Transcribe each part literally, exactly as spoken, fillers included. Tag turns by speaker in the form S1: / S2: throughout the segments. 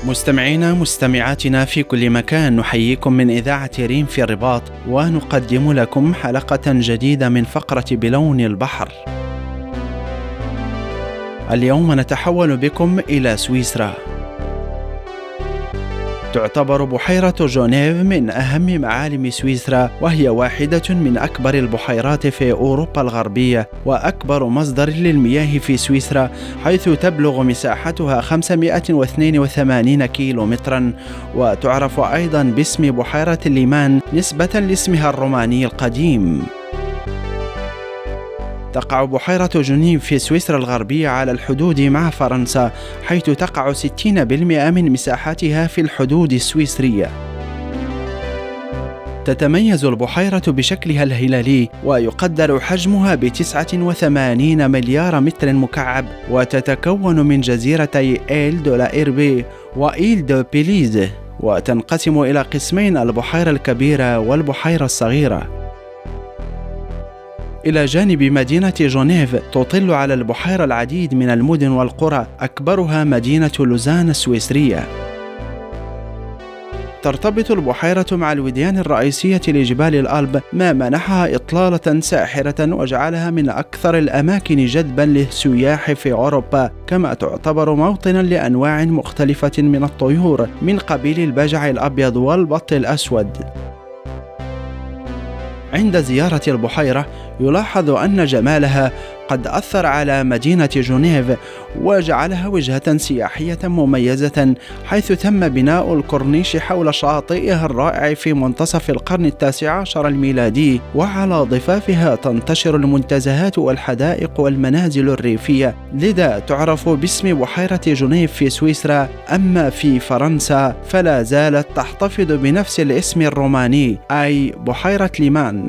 S1: مستمعينا مستمعاتنا في كل مكان، نحييكم من إذاعة ريم في الرباط، ونقدم لكم حلقة جديدة من فقرة بلون البحر. اليوم نتحول بكم إلى سويسرا. تعتبر بحيرة جونيف من أهم معالم سويسرا، وهي واحدة من أكبر البحيرات في أوروبا الغربية، وأكبر مصدر للمياه في سويسرا، حيث تبلغ مساحتها خمسمائة واثنين وثمانين كيلو مترا، وتعرف أيضا باسم بحيرة ليمان نسبة لاسمها الروماني القديم. تقع بحيرة جونيف في سويسرا الغربية على الحدود مع فرنسا، حيث تقع ستين بالمئة من مساحتها في الحدود السويسرية. تتميز البحيرة بشكلها الهلالي، ويقدر حجمها بتسعة وثمانين مليار متر مكعب، وتتكون من جزيرتي إيل دو لا إيربي وإيل دو بيليز، وتنقسم إلى قسمين: البحيرة الكبيرة والبحيرة الصغيرة. إلى جانب مدينة جونيف تطل على البحيرة العديد من المدن والقرى، أكبرها مدينة لوزان السويسرية. ترتبط البحيرة مع الوديان الرئيسية لجبال الألب، ما منحها إطلالة ساحرة وجعلها من أكثر الأماكن جذبا للسياح في أوروبا، كما تعتبر موطنا لأنواع مختلفة من الطيور من قبيل البجع الأبيض والبط الأسود. عند زيارة البحيرة يلاحظ أن جمالها قد أثر على مدينة جونيف، وجعلها وجهة سياحية مميزة، حيث تم بناء الكورنيش حول شاطئها الرائع في منتصف القرن التاسع عشر الميلادي، وعلى ضفافها تنتشر المنتزهات والحدائق والمنازل الريفية، لذا تعرف باسم بحيرة جونيف في سويسرا. أما في فرنسا فلا زالت تحتفظ بنفس الاسم الروماني، أي بحيرة ليمان.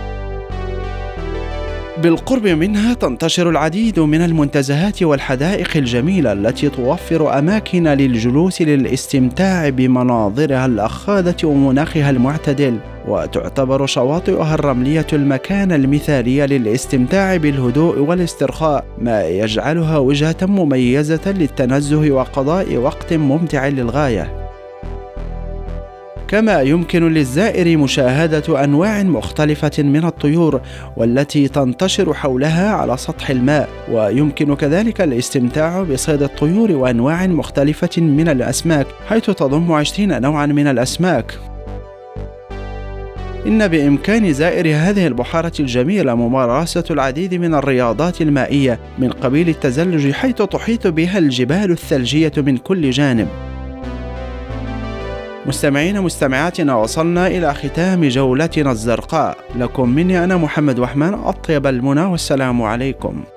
S1: بالقرب منها تنتشر العديد من المنتزهات والحدائق الجميلة، التي توفر أماكن للجلوس للاستمتاع بمناظرها الأخاذة ومناخها المعتدل، وتعتبر شواطئها الرملية المكان المثالي للاستمتاع بالهدوء والاسترخاء، ما يجعلها وجهة مميزة للتنزه وقضاء وقت ممتع للغاية. كما يمكن للزائر مشاهدة أنواع مختلفة من الطيور، والتي تنتشر حولها على سطح الماء، ويمكن كذلك الاستمتاع بصيد الطيور وأنواع مختلفة من الأسماك، حيث تضم عشرين نوعا من الأسماك. إن بإمكان زائر هذه البحيرة الجميلة ممارسة العديد من الرياضات المائية من قبيل التزلج، حيث تحيط بها الجبال الثلجية من كل جانب. مستمعين مستمعاتنا، وصلنا إلى ختام جولتنا الزرقاء. لكم مني أنا محمد وحمان أطيب المنى، والسلام عليكم.